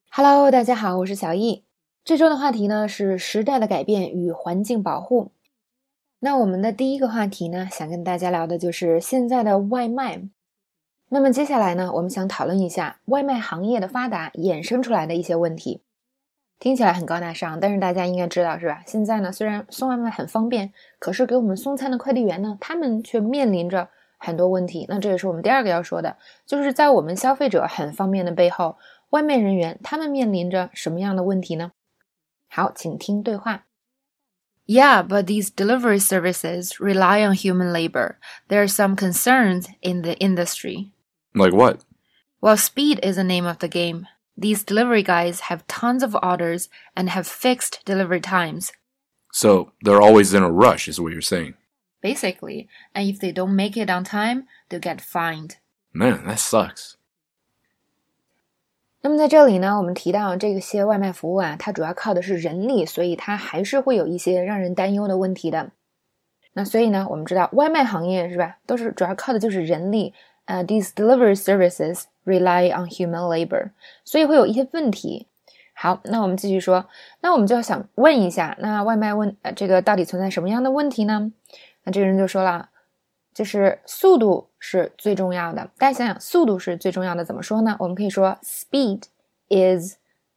Hello， 大家好，我是小易。这周的话题呢是时代的改变与环境保护。那我们的第一个话题呢，想跟大家聊的就是现在的外卖。那么接下来呢，我们想讨论一下外卖行业的发达衍生出来的一些问题。听起来很高大上，但是大家应该知道是吧？现在呢，虽然送外卖很方便，可是给我们送餐的快递员呢，他们却面临着很多问题。那这也是我们第二个要说的，就是在我们消费者很方便的背后，外卖人员他们面临着什么样的问题呢？好，请听对话。 Yeah, but these delivery services rely on human labor. There are some concerns in the industry. Like what? Well, speed is the name of the game. These delivery guys have tons of orders and have fixed delivery times. So they're always in a rush is what you're saying. Basically, and if they don't make it on time, they'll get fined. Man, that sucks. 那么在这里呢，我们提到这些外卖服务啊，它主要靠的是人力，所以它还是会有一些让人担忧的问题的。那所以呢，我们知道外卖行业是吧，都是主要靠的就是人力。These delivery services rely on human labor， 所以会有一些问题。好，那我们继续说，那我们就要想问一下，那外卖这个到底存在什么样的问题呢？那这个人就说了，就是速度是最重要的。大家想想，速度是最重要的，怎么说呢？我们可以说 speed is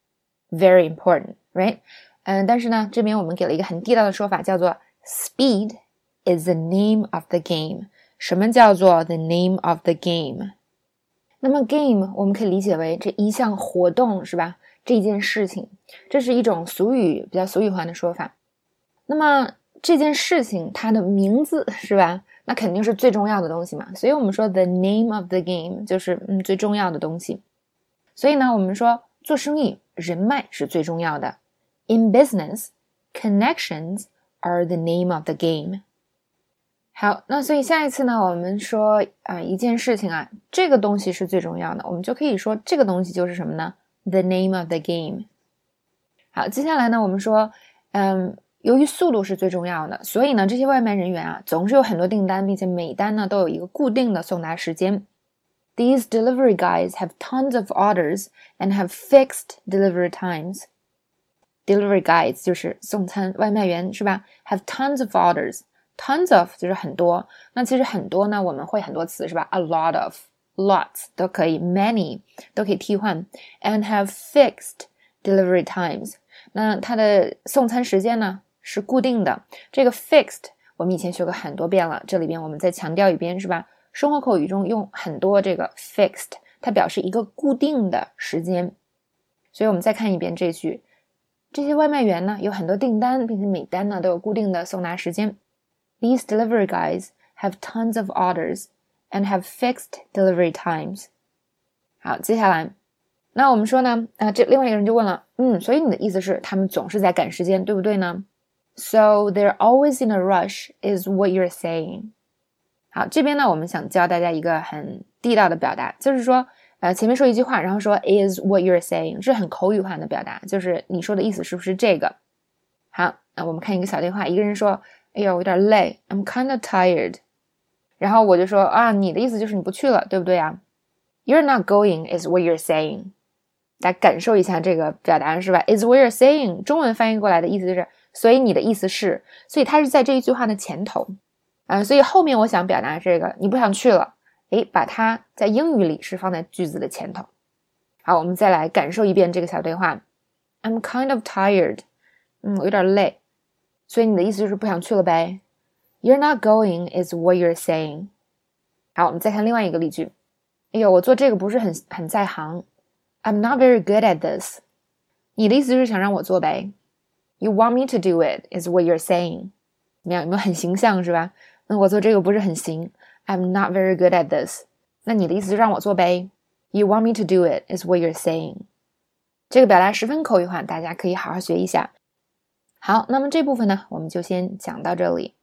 very important, right? 但是呢，这边我们给了一个很地道的说法，叫做 speed is the name of the game。 什么叫做 the name of the game？ 那么 game 我们可以理解为这一项活动是吧？这件事情，这是一种俗语，比较俗语化的说法。那么这件事情它的名字是吧，那肯定是最重要的东西嘛，所以我们说 the name of the game 就是最重要的东西。所以呢，我们说做生意人脉是最重要的。 In business, connections are the name of the game。 好，那所以下一次呢，我们说一件事情啊，这个东西是最重要的，我们就可以说这个东西就是什么呢？ The name of the game。 好，接下来呢，我们说由于速度是最重要的，所以呢，这些外卖人员啊，总是有很多订单，并且每单呢都有一个固定的送达时间。These delivery guys have tons of orders and have fixed delivery times. Delivery guys 就是送餐外卖员是吧？ Have tons of orders. Tons of 就是很多。那其实很多呢，我们会很多词是吧？ A lot of, lots 都可以， many 都可以替换。And have fixed delivery times. 那它的送餐时间呢是固定的。这个 fixed 我们以前学过很多遍了，这里边我们再强调一遍是吧？生活口语中用很多这个 fixed， 它表示一个固定的时间。所以我们再看一遍这句，这些外卖员呢有很多订单，并且每单呢都有固定的送达时间。These delivery guys have tons of orders and have fixed delivery times. 好，接下来那我们说呢这另外一个人就问了，所以你的意思是他们总是在赶时间，对不对呢？ So they're always in a rush is what you're saying. 好，这边呢我们想教大家一个很地道的表达，就是说前面说一句话，然后说 is what you're saying， 是很口语化的表达，就是你说的意思是不是这个。好，那我们看一个小对话，一个人说，哎呀我有点累， I'm kind of tired。 然后我就说你的意思就是你不去了，对不对啊？ You're not going is what you're saying。 大家感受一下这个表达是吧？ is what you're saying 中文翻译过来的意思就是所以你的意思是，所以它是在这一句话的前头所以后面我想表达这个你不想去了，把它在英语里是放在句子的前头。好，我们再来感受一遍这个小对话。 I'm kind of tired， 我有点累，所以你的意思就是不想去了呗。 You're not going is what you're saying。 好，我们再看另外一个例句，哎呦我做这个不是很在行， I'm not very good at this。 你的意思就是想让我做呗。 You want me to do it is what you're saying。 怎么样，有没有很形象是吧？我做这个不是很行， I'm not very good at this。 那你的意思就让我做呗。 You want me to do it is what you're saying。 这个表达十分口语化，大家可以好好学一下。好，那么这部分呢我们就先讲到这里。